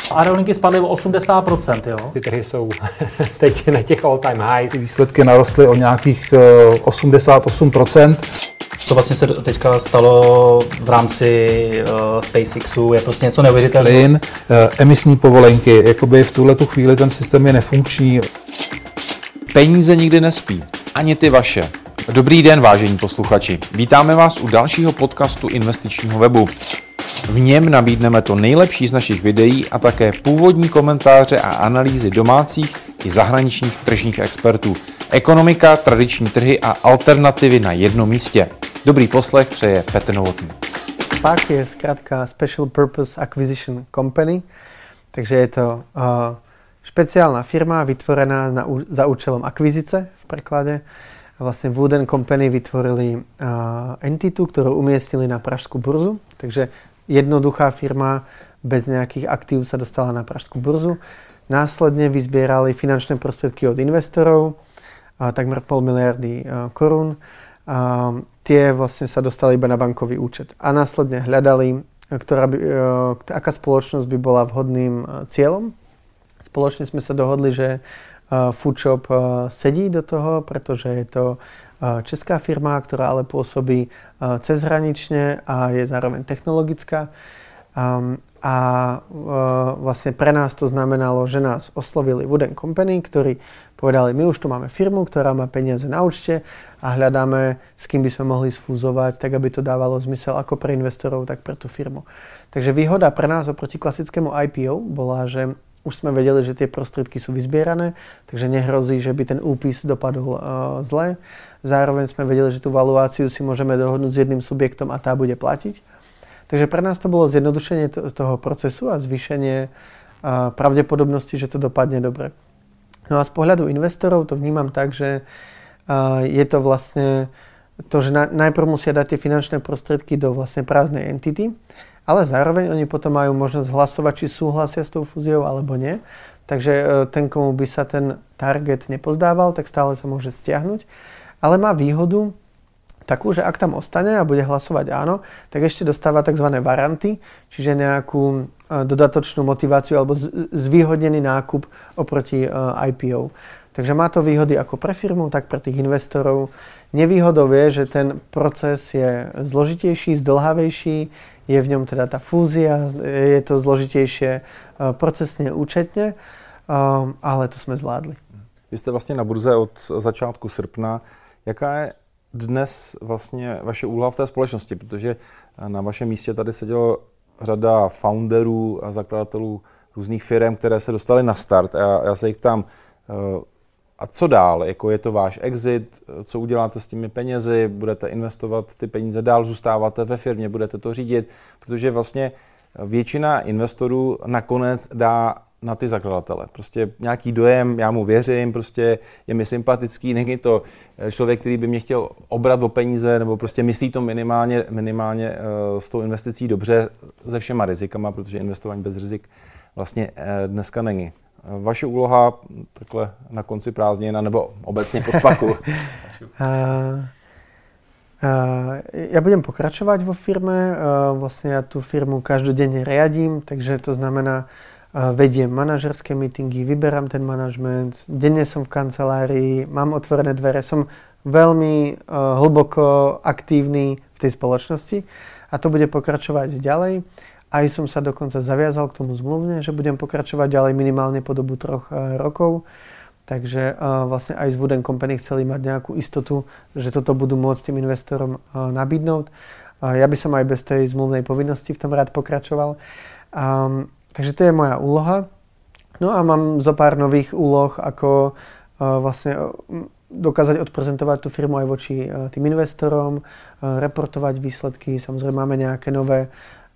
Aerolinky spadly o 80%, jo? Ty trhy jsou teď na těch all-time highs. Výsledky narostly o nějakých 88%. Co vlastně se teďka stalo v rámci SpaceXu, je prostě něco neuvěřitelného. Plyn, emisní povolenky, jakoby v tuhletu chvíli ten systém je nefunkční. Peníze nikdy nespí, ani ty vaše. Dobrý den, vážení posluchači. Vítáme vás u dalšího podcastu investičního webu. V něm nabídneme to nejlepší z našich videí a také původní komentáře a analýzy domácích i zahraničních tržních expertů. Ekonomika, tradiční trhy a alternativy na jednom místě. Dobrý poslech přeje Petr Novotný. SPAC je zkrátka Special Purpose Acquisition Company, takže je to špeciálna firma vytvorená za účelom akvizice v preklade. Vlastne Wood & Company vytvorili entitu, ktorú umiestnili na pražskú burzu, takže jednoduchá firma bez nejakých aktív sa dostala na pražskú burzu. Následne vyzbierali finančné prostriedky od investorov, takmer 500 miliardy korún. Tie vlastne sa dostali iba na bankový účet. A následne hľadali, aká spoločnosť by bola vhodným cieľom. Spoločne sme sa dohodli, že Foodshop sedí do toho, pretože je to česká firma, ktorá ale pôsobí cezhranične a je zároveň technologická. Vlastne pre nás to znamenalo, že nás oslovili Wood & Company, ktorí povedali, my už tu máme firmu, ktorá má peniaze na účte a hľadáme, s kým by sme mohli sfúzovať, tak aby to dávalo zmysel ako pre investorov, tak pre tú firmu. Takže výhoda pre nás oproti klasickému IPO bola, že už sme vedeli, že tie prostriedky sú vyzbierané, takže nehrozí, že by ten úpis dopadol zle. Zároveň sme vedeli, že tú valuáciu si môžeme dohodnúť s jedným subjektom a tá bude platiť. Takže pre nás to bolo zjednodušenie toho procesu a zvýšenie pravdepodobnosti, že to dopadne dobre. No a z pohľadu investorov to vnímam tak, že je to vlastne to, že najprv musia dať tie finančné prostriedky do vlastne prázdnej entity, ale zároveň oni potom majú možnosť hlasovať, či súhlasia s tou fúziou alebo nie. Takže ten, komu by sa ten target nepozdával, tak stále sa môže stiahnuť. Ale má výhodu takú, že ak tam ostane a bude hlasovať áno, tak ešte dostáva tzv. Varanty, čiže nejakú dodatočnú motiváciu alebo zvýhodnený nákup oproti IPO. Takže má to výhody ako pre firmu, tak pre tých investorov. Nevýhodou je, že ten proces je zložitejší, zdĺhavejší, je v ňom teda tá fúzia, je to zložitejšie procesne, účetne, ale to jsme zvládli. Vy jste vlastně na burze od začátku srpna. Jaká je dnes vlastně vaše úloha v té společnosti? Protože na vašem místě tady sedělo řada founderů a zakladatelů různých firm, které se dostaly na start. A já se jich ptám, a co dál? Jako je to váš exit? Co uděláte s těmi penězi? Budete investovat ty peníze dál? Zůstáváte ve firmě? Budete to řídit? Protože vlastně většina investorů nakonec dá na ty zakladatele. Prostě nějaký dojem, já mu věřím, prostě je mi sympatický, není to člověk, který by mě chtěl obrat o peníze, nebo prostě myslí to minimálně s tou investicí dobře se všema rizikama, protože investování bez rizik vlastně dneska není. Vaše úloha takhle na konci prázdnin nebo obecně po SPACu? Ja budem pokračovať vo firme. Vlastne ja tú firmu každodenne riadím, takže to znamená, vediem manažerské meetingy, vyberám ten manažment, denne som v kancelárii, mám otvorené dvere, som veľmi hlboko aktívny v tej spoločnosti a to bude pokračovať ďalej. Aj som sa dokonca zaviazal k tomu zmluvne, že budem pokračovať ďalej minimálne po dobu 3 rokov. Takže vlastne aj z Wood & Company chceli mať nejakú istotu, že toto budú môcť tým investorom nabídnúť. Ja by som aj bez tej zmluvnej povinnosti v tom rád pokračoval. Takže to je moja úloha. No a mám zo pár nových úloh, ako vlastne dokázať odprezentovať tú firmu aj voči tým investorom, reportovať výsledky. Samozrejme máme nejaké nové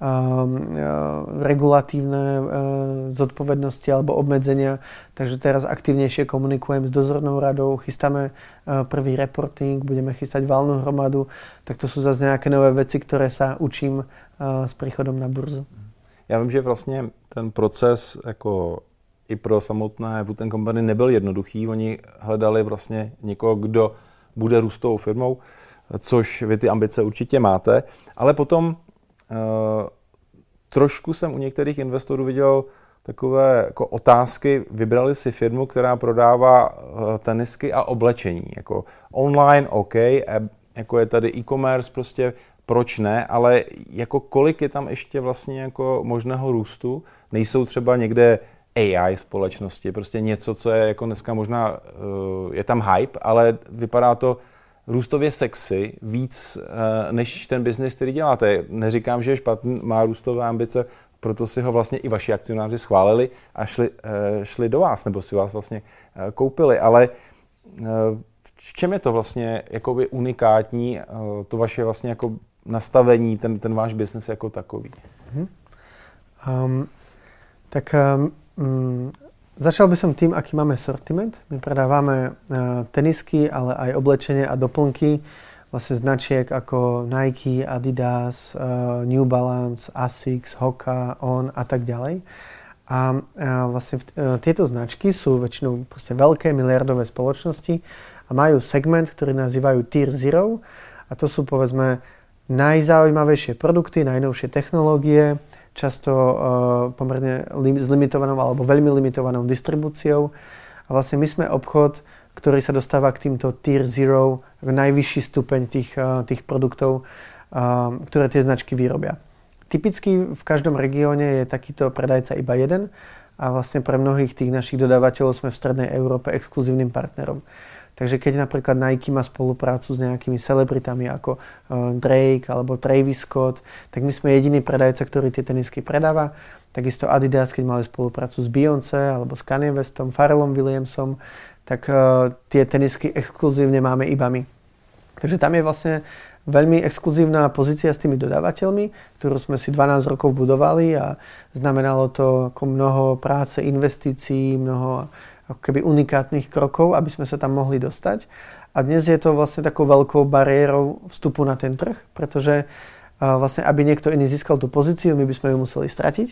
regulatívne zodpovednosti alebo obmedzenia. Takže teraz aktivnejšie komunikujem s dozornou radou, chystáme prvý reporting, budeme chystať valnú hromadu. Tak to sú zase nejaké nové veci, ktoré sa učím s príchodom na burzu. Já vím, že vlastně ten proces jako i pro samotné Wood & Company nebyl jednoduchý. Oni hledali vlastně někoho, kdo bude růstovou firmou, což vy ty ambice určitě máte, ale potom trošku jsem u některých investorů viděl takové jako otázky. Vybrali si firmu, která prodává tenisky a oblečení. Jako online, OK, jako je tady e-commerce, prostě proč ne, ale jako kolik je tam ještě vlastně jako možného růstu? Nejsou třeba někde AI společnosti, prostě něco, co je jako dneska možná, je tam hype, ale vypadá to růstově sexy víc než ten biznis, který děláte. Neříkám, že je špatný, má růstové ambice, proto si ho vlastně i vaši akcionáři schválili a šli do vás, nebo si vás vlastně koupili, ale v čem je to vlastně jakoby unikátní, to vaše vlastně jako nastavení, ten váš biznes jako takový? Začal by som tým, aký máme sortiment. My predávame tenisky, ale aj oblečenie a doplnky vlastne značiek ako Nike, Adidas, New Balance, Asics, Hoka, On a tak ďalej. A vlastne tieto značky sú väčšinou proste veľké miliardové spoločnosti a majú segment, ktorý nazývajú Tier Zero. A to sú povedzme najzaujímavejšie produkty, najnovšie technológie, často pomerne s limitovanou alebo veľmi limitovanou distribúciou. A vlastne my sme obchod, ktorý sa dostáva k týmto Tier Zero, najvyšší stupeň tých produktov, ktoré tie značky vyrobia. Typicky v každom regióne je takýto predajca iba jeden a vlastne pre mnohých tých našich dodávateľov sme v Strednej Európe exkluzívnym partnerom. Takže keď napríklad Nike má spoluprácu s nejakými celebritami ako Drake alebo Travis Scott, tak my sme jediný predajca, ktorý tie tenisky predáva. Takisto Adidas, keď mali spoluprácu s Beyoncé alebo s Kanye Westom, Pharrellom Williamsom, tak tie tenisky exkluzívne máme iba my. Takže tam je vlastne veľmi exkluzívna pozícia s tými dodávateľmi, ktorú sme si 12 rokov budovali a znamenalo to ako mnoho práce, investícií, mnoho ako keby unikátnych krokov, aby sme sa tam mohli dostať. A dnes je to vlastne takou veľkou bariérou vstupu na ten trh, pretože vlastne aby niekto iný získal tú pozíciu, my by sme ju museli stratiť.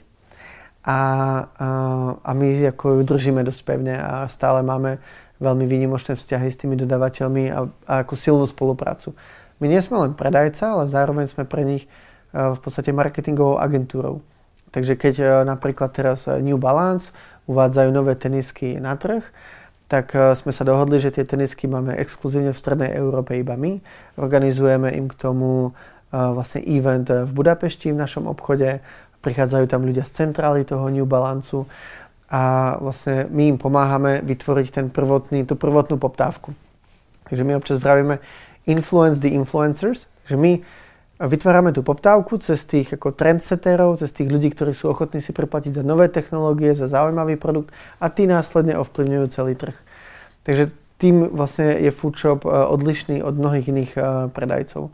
A my ako ju držíme dosť pevne a stále máme veľmi výnimočné vzťahy s tými dodávateľmi a ako silnú spoluprácu. My nie sme len predajca, ale zároveň sme pre nich v podstate marketingovou agentúrou. Takže keď napríklad teraz New Balance uvádzajú nové tenisky na trh, tak sme sa dohodli, že tie tenisky máme exkluzívne v Strednej Európe iba my. Organizujeme im k tomu vlastne event v Budapešti v našom obchode. Prichádzajú tam ľudia z centrály toho New Balanceu a vlastne my im pomáhame vytvoriť tú prvotnú poptávku. Takže my občas vravíme influence the influencers, že my vytvárame tú poptávku cez tých ako trendsetterov, cez tých ľudí, ktorí sú ochotní si preplatiť za nové technológie, za zaujímavý produkt a tí následne ovplyvňujú celý trh. Takže tým vlastne je Foodshop odlišný od mnohých iných predajcov.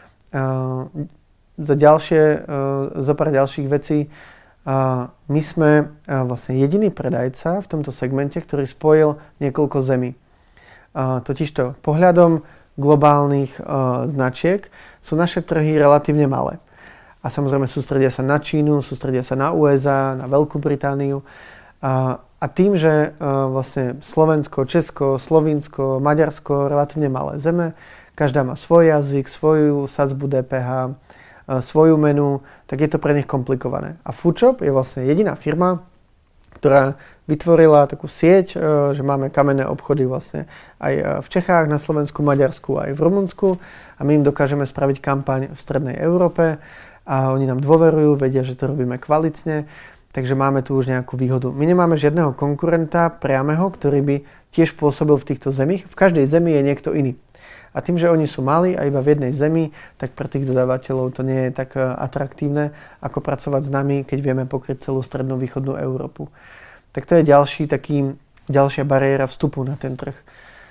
Za pár ďalších vecí, my sme vlastne jediný predajca v tomto segmente, ktorý spojil niekoľko zemí. Totižto pohľadom globálnych značiek sú naše trhy relatívne malé. A samozrejme sústredia sa na Čínu, sústredia sa na USA, na Veľkú Britániu. A tým, že vlastne Slovensko, Česko, Slovinsko, Maďarsko, relatívne malé zeme, každá má svoj jazyk, svoju sadzbu DPH, svoju menu, tak je to pre nich komplikované. A Foodshop je vlastne jediná firma, ktorá vytvorila takú sieť, že máme kamenné obchody vlastne aj v Čechách, na Slovensku, Maďarsku, aj v Rumunsku a my im dokážeme spraviť kampaň v Strednej Európe a oni nám dôverujú, vedia, že to robíme kvalitne, takže máme tu už nejakú výhodu. My nemáme žiadneho konkurenta priameho, ktorý by tiež pôsobil v týchto zemích. V každej zemi je niekto iný. A tým, že oni sú malí a iba v jednej zemi, tak pre tých dodávateľov to nie je tak atraktívne, ako pracovať s nami, keď vieme pokryť celú strednú východnú Európu. Tak to je ďalšia bariéra vstupu na ten trh.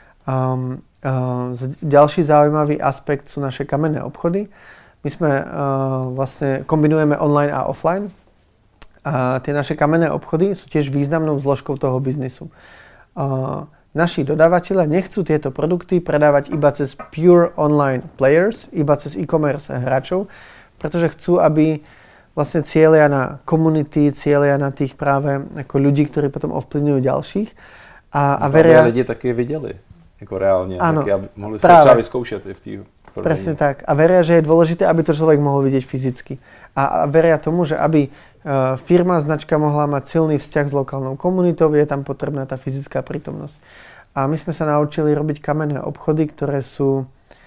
Ďalší zaujímavý aspekt sú naše kamenné obchody. My vlastne kombinujeme online a offline. A tie naše kamenné obchody sú tiež významnou zložkou toho biznisu. Naši dodávateľia nechcú tieto produkty predávať iba cez pure online players, iba cez e-commerce hráčov, pretože chcú, aby vlastne cieľia na komunity, cieľia na tých práve ako ľudí, ktorí potom ovplyvňujú ďalších. A veria... lidi taky viděli, jako reálně, ano, taky, aby mohli si třeba vyzkoušet i v té prodejně. Presne tak. A veria, že je dôležité, aby to človek mohol vidieť fyzicky. A veria tomu, že aby firma, značka mohla mať silný vzťah s lokálnou komunitou, je tam potrebná tá fyzická prítomnosť. A my sme sa naučili robiť kamenné obchody, ktoré sú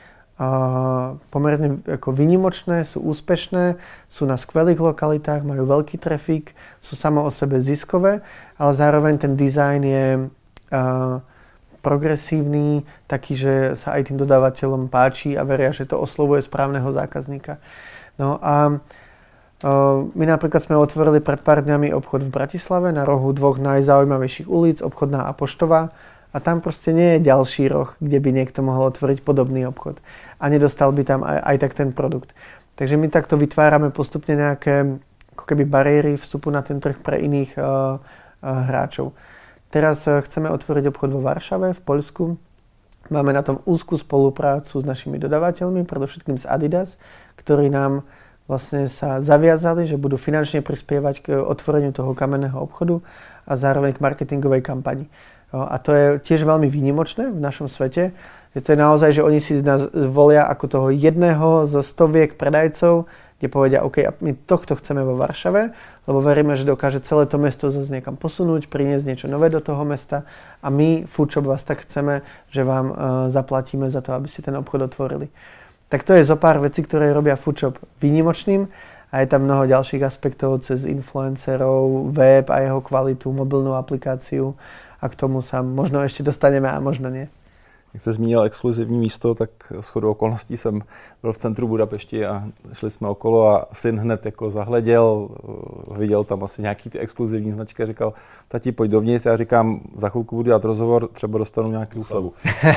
pomerne ako výnimočné, sú úspešné, sú na skvelých lokalitách, majú veľký trafik, sú samo o sebe ziskové, ale zároveň ten dizajn je progresívny, taký, že sa aj tým dodávateľom páči a veria, že to oslovuje správneho zákazníka. No a my napríklad sme otvorili pred pár dňami obchod v Bratislave na rohu dvoch najzaujímavejších ulic, Obchodná a Poštová. A tam proste nie je ďalší roh, kde by niekto mohol otvoriť podobný obchod. A nedostal by tam aj tak ten produkt. Takže my takto vytvárame postupne nejaké ako keby bariéry vstupu na ten trh pre iných hráčov. Teraz chceme otvoriť obchod vo Varšave, v Poľsku. Máme na tom úzkú spoluprácu s našimi dodávateľmi, predovšetkým z Adidas, ktorí nám vlastne sa zaviazali, že budú finančne prispievať k otvoreniu toho kamenného obchodu a zároveň k marketingovej kampani. A to je tiež veľmi výnimočné v našom svete, že to je naozaj, že oni si nás volia ako toho jedného zo stoviek predajcov, kde povedia, OK, my tohto chceme vo Varšave, lebo veríme, že dokáže celé to mesto zase niekam posunúť, priniesť niečo nové do toho mesta a my, Foodshop, vás tak chceme, že vám zaplatíme za to, aby ste ten obchod otvorili. Tak to je zo pár vecí, ktoré robia Foodshop výnimočným a je tam mnoho ďalších aspektov cez influencerov, web a jeho kvalitu, mobilnú aplikáciu. A k tomu sa možno ešte dostaneme a možno nie. Jak jste zmínil exkluzivní místo, tak shodou okolností jsem byl v centru Budapešti a šli jsme okolo a syn hned jako zahleděl, viděl tam asi nějaký ty exkluzivní značky a říkal, tati, pojď dovnitř. Já říkám, za chvilku budu dělat rozhovor, třeba dostanu nějakou slevu.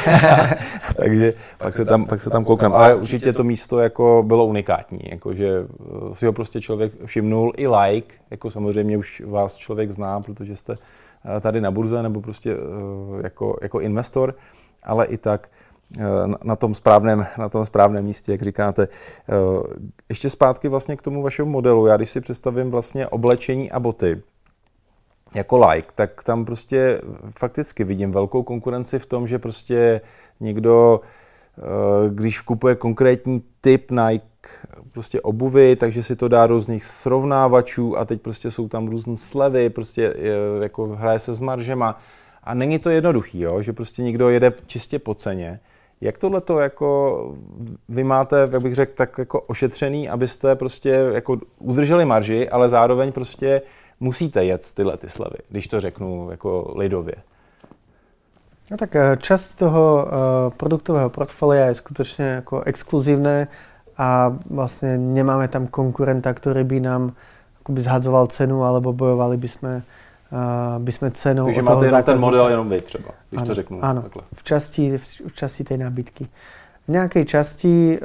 Takže pak se tam koukám. Ale určitě to místo jako bylo unikátní, jako že si ho prostě člověk všimnul i like, jako samozřejmě už vás člověk zná, protože jste tady na burze nebo prostě jako investor, ale i tak na tom správném místě, jak říkáte. Ještě zpátky vlastně k tomu vašemu modelu. Já když si představím vlastně oblečení a boty jako like, tak tam prostě fakticky vidím velkou konkurenci v tom, že prostě někdo, když kupuje konkrétní typ Nike prostě obuvy, takže si to dá různých srovnávačů a teď prostě jsou tam různé slevy, prostě jako hraje se s maržema a není to jednoduchý, jo? Že prostě někdo jede čistě po ceně. Jak tohleto jako vy máte, jak bych řekl, tak jako ošetřený, abyste prostě jako udrželi marži, ale zároveň prostě musíte jet tyhle ty slevy, když to řeknu jako lidově. No tak časť toho produktového portfólia je skutočne ako exkluzívne a vlastne nemáme tam konkurenta, ktorý by nám akoby zhadzoval cenu alebo bojovali by sme cenou. Takže máte jenom ten model, jenom vy třeba, když ano, to řeknu. Áno, takhle. v časti tej nábytky. V nejakej časti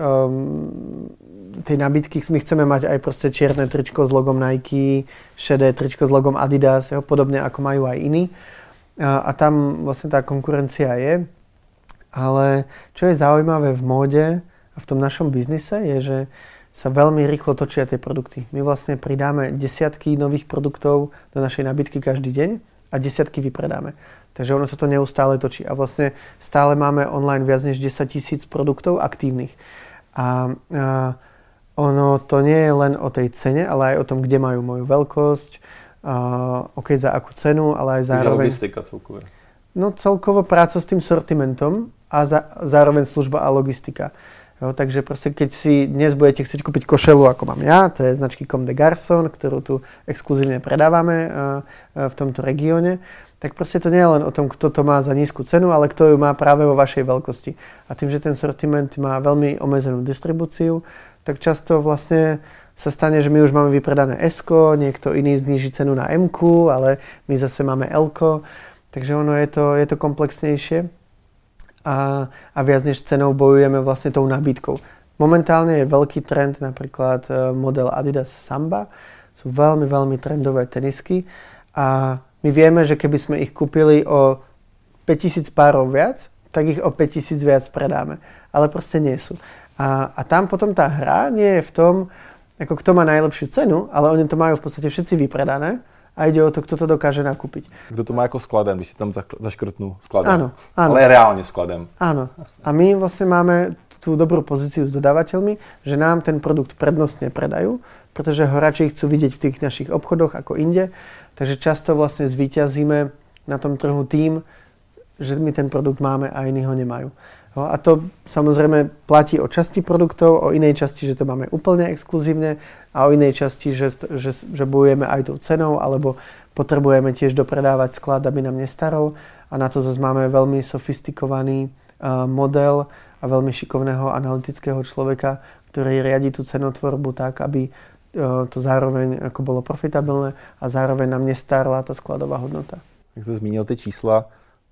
tej nábytky my chceme mať aj proste čierne tričko s logom Nike, šedé tričko s logom Adidas, podobne ako majú aj iní. A tam vlastne tá konkurencia je. Ale čo je zaujímavé v móde a v tom našom biznise je, že sa veľmi rýchlo točia tie produkty. My vlastne pridáme desiatky nových produktov do našej nábytky každý deň a desiatky vypredáme. Takže ono sa to neustále točí. A vlastne stále máme online viac než 10 000 produktov aktívnych. A ono to nie je len o tej cene, ale aj o tom, kde majú moju veľkosť, OK, za akú cenu, ale aj zároveň... Logistika celkově. No celkovo práca s tým sortimentom a zároveň služba a logistika. Jo, takže proste keď si dnes budete chcieť kúpiť košelu, ako mám ja, to je značky Comme des Garçons, ktorú tu exkluzívne predávame v tomto regióne, tak proste to nie je len o tom, kto to má za nízku cenu, ale kto ju má práve vo vašej veľkosti. A tým, že ten sortiment má veľmi obmedzenú distribúciu, tak často vlastne sa stane, že my už máme vypredané S-ko, niekto iný zníži cenu na M-ku, ale my zase máme L-ko. Takže ono je to komplexnejšie a viac než cenou bojujeme vlastne tou nabídkou. Momentálne je veľký trend, napríklad model Adidas Samba. Sú veľmi, veľmi trendové tenisky a my vieme, že keby sme ich kúpili o 5000 párov viac, tak ich o 5000 viac predáme. Ale proste nie sú. A tam potom tá hra nie je v tom, ako kto má najlepšiu cenu, ale oni to majú v podstate všetci vypredané a ide o to, kto to dokáže nakúpiť. Kdo to má jako skladem, když si tam zaškrtnú skladem. Áno. Ale reálne skladem. Áno. A my vlastne máme tú dobrú pozíciu s dodávateľmi, že nám ten produkt prednostne predajú, pretože ho radšej chcú vidieť v tých našich obchodoch ako inde. Takže často vlastne zvíťazíme na tom trhu tým, že my ten produkt máme a iní ho nemajú. A to samozrejme platí o časti produktov, o inej časti, že to máme úplne exkluzívne a o inej časti, že bojujeme aj tou cenou, alebo potrebujeme tiež dopredávať sklad, aby nám nestarol. A na to zase máme veľmi sofistikovaný model a veľmi šikovného analytického človeka, ktorý riadi tú cenotvorbu tak, aby to zároveň ako bolo profitabilné a zároveň nám nestárla tá skladová hodnota. Jak jste zmínil ty čísla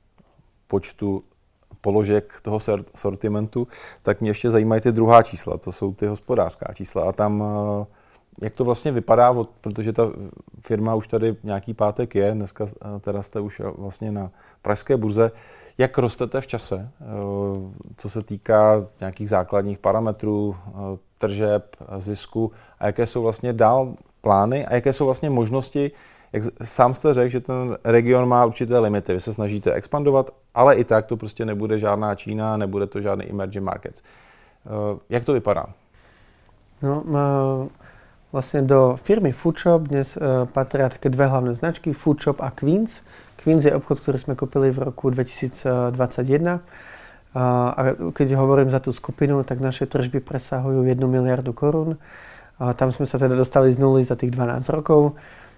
počtu položek toho sortimentu, tak mě ještě zajímají ty druhá čísla, to jsou ty hospodářská čísla. A tam, jak to vlastně vypadá, protože ta firma už tady nějaký pátek je, dneska teda jste už vlastně na pražské burze, jak rostete v čase, co se týká nějakých základních parametrů, tržeb, zisku a jaké jsou vlastně dál plány a jaké jsou vlastně možnosti. Jak sám jste řekl, že ten region má určité limity. Vy se snažíte expandovat, ale i tak to prostě nebude žádná Čína, nebude to žádný emerging markets. Jak to vypadá? No, vlastne do firmy Foodshop dnes patria také dve hlavné značky, Foodshop a Queens. Queens je obchod, ktorý sme kúpili v roku 2021. A keď hovorím za tú skupinu, tak naše tržby presahujú 1 miliardu korún. Tam sme sa teda dostali z nuly za tých 12 rokov.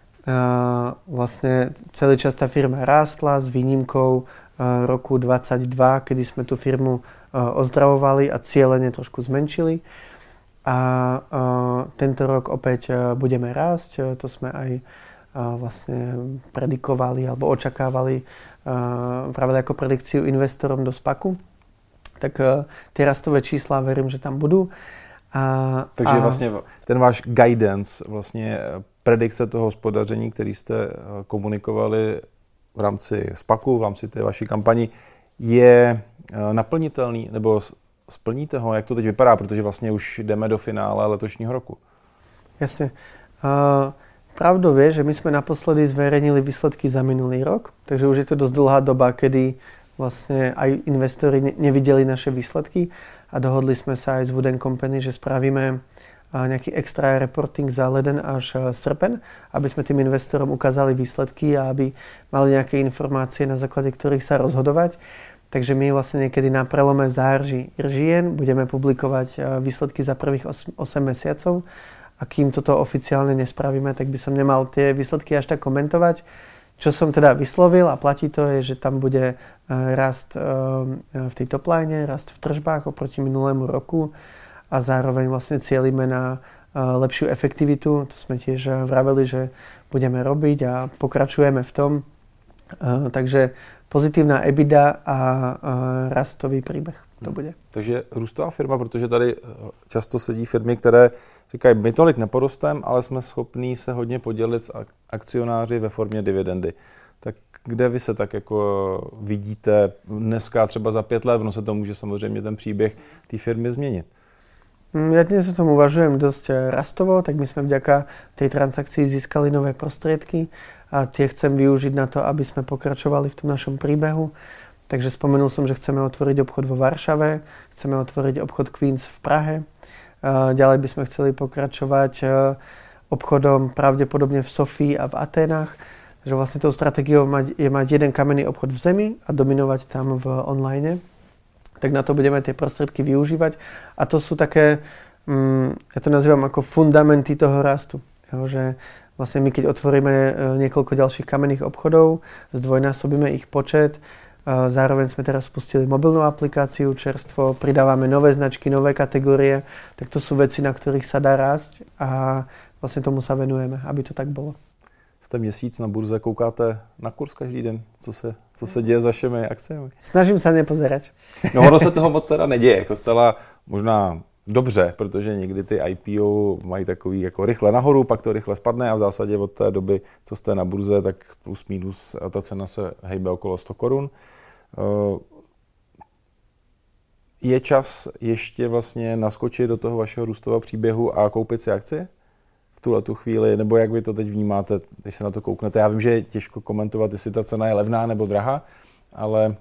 Vlastne celý čas tá firma rástla s výnimkou roku 2022, kedy sme tú firmu ozdravovali a cieľene trošku zmenšili. A tento rok opäť budeme rásť, to sme aj vlastne predikovali alebo očakávali práve ako predikciu investorom do SPACu. Tak tie rastové čísla verím, že tam budú. Takže vlastně ten váš guidance, vlastně predikce toho hospodaření, který jste komunikovali v rámci SPACu, v rámci té vaší kampani, je naplnitelný, nebo splníte ho? Jak to teď vypadá? Protože vlastně už jdeme do finále letošního roku. Jasne. Pravdou je, že my sme naposledy zverejnili výsledky za minulý rok, takže už je to dosť dlhá doba, kedy vlastne aj investori nevideli naše výsledky a dohodli sme sa aj s Wood & Company, že spravíme nejaký extra reporting za leden až srpen, aby sme tým investorom ukázali výsledky a aby mali nejaké informácie, na základe ktorých sa rozhodovať. Takže my vlastne niekedy na prelome září-žien budeme publikovať výsledky za prvých 8 mesiacov a kým toto oficiálne nespravíme, tak by som nemal tie výsledky až tak komentovať. Čo som teda vyslovil a platí to je, že tam bude rast v tej top line, rast v tržbách oproti minulému roku a zároveň vlastne cieľime na lepšiu efektivitu. To sme tiež vraveli, že budeme robiť a pokračujeme v tom. Takže pozitívna EBITDA a rastový príbeh to bude. Takže růstová firma, protože tady často sedí firmy, které říkají, my tolik neporostem, ale jsme schopní se hodně podělit s akcionáři ve formě dividendy. Tak kde vy se tak jako vidíte dneska třeba za 5 let, ono se to může samozřejmě ten příběh té firmy změnit? Ja dnes o tom uvažujem dosť rastovo, tak my sme vďaka tej transakcii získali nové prostriedky a tie chcem využiť na to, aby sme pokračovali v tom našom príbehu. Takže spomenul som, že chceme otvoriť obchod vo Varšave, chceme otvoriť obchod Queens v Prahe. Ďalej by sme chceli pokračovať obchodom pravdepodobne v Sofii a v Aténach. Takže vlastne tou stratégiou je mať jeden kamenný obchod v zemi a dominovať tam v online. Tak na to budeme tie prostriedky využívať. A to sú také, ja to nazývam ako fundamenty toho rastu. Jo, že vlastne my keď otvoríme niekoľko ďalších kamenných obchodov, zdvojnásobíme ich počet, zároveň sme teraz spustili mobilnú aplikáciu čerstvo, pridávame nové značky, nové kategórie, tak to sú veci, na ktorých sa dá rásť a vlastne tomu sa venujeme, aby to tak bolo. Jste měsíc na burze, koukáte na kurz každý den, co se děje s vašimi akciemi? Snažím sa nepozerať. No ono se toho moc teda neděje, jako zcela možná dobře, protože někdy ty IPO mají takový jako rychle nahoru, pak to rychle spadne a v zásadě od té doby, co jste na burze, tak plus minus ta cena se hejbe okolo 100 korun. Je čas ještě vlastně naskočit do toho vašeho růstového příběhu a koupit si akcie tuhletu chvíli, nebo jak vy to teď vnímáte, když se na to kouknete? Já vím, že je těžko komentovat, jestli ta cena je levná nebo drahá, ale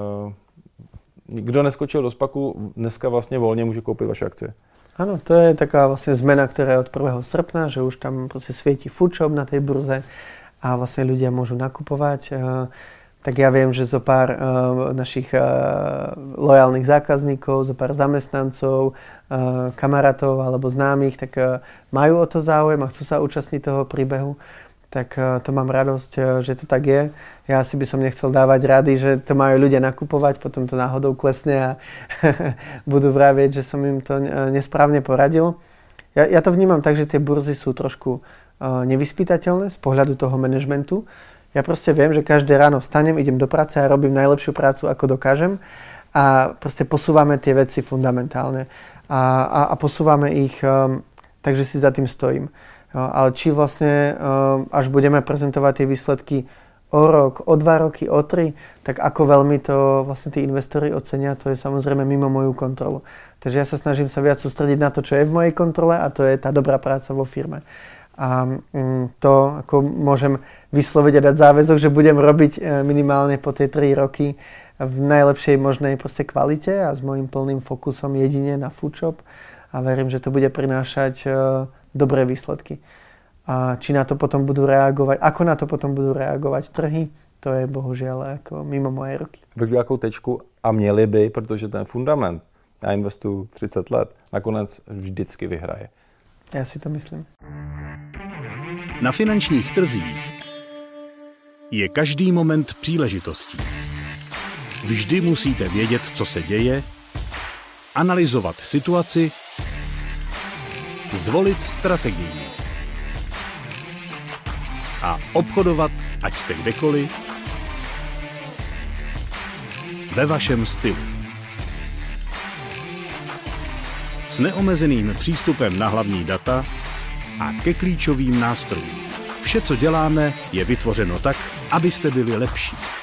kdo neskočil do SPACu, dneska vlastně volně může koupit vaše akcie. Áno, to je taká vlastne zmena, ktorá je od 1. srpna, že už tam proste svieti foodshop na tej burze a vlastne ľudia môžu nakupovať. Tak ja viem, že zo pár našich lojálnych zákazníkov, zo pár zamestnancov, kamarátov alebo známych, tak majú o to záujem a chcú sa účastniť toho príbehu. Tak to mám radosť, že to tak je. Ja si by som nechcel dávať rady, že to majú ľudia nakupovať, potom to náhodou klesne a budú vravieť, že som im to nesprávne poradil. Ja to vnímam tak, že tie burzy sú trošku nevyspytateľné z pohľadu toho manažmentu. Ja proste viem, že každé ráno vstanem, idem do práce a robím najlepšiu prácu, ako dokážem a proste posúvame tie veci fundamentálne a posúvame ich tak, že si za tým stojím. Ale či vlastne, až budeme prezentovať tie výsledky o rok, o 2 roky, o 3, tak ako veľmi to vlastne tí investori ocenia, to je samozrejme mimo moju kontrolu. Takže ja sa snažím sa viac sústrediť na to, čo je v mojej kontrole a to je tá dobrá práca vo firme. A to, ako môžem vysloviť a dať záväzok, že budem robiť minimálne po tie 3 roky v najlepšej možnej proste kvalite a s mojím plným fokusom jedine na foodshop a verím, že to bude prinášať dobré výsledky. A či na to potom budú reagovať, ako na to potom budú reagovať trhy, to je bohužiaľ ako mimo mojej ruky. Řekl jakou tečku a měli by, protože ten fundament, já investuju 30 let, nakonec vždycky vyhraje. Já si to myslím. Na finančních trzích je každý moment příležitostí. Vždy musíte vědět, co se děje, analyzovat situaci, zvolit strategii a obchodovat, ať jste kdekoliv, ve vašem stylu. S neomezeným přístupem na hlavní data a ke klíčovým nástrojům. Vše, co děláme, je vytvořeno tak, abyste byli lepší.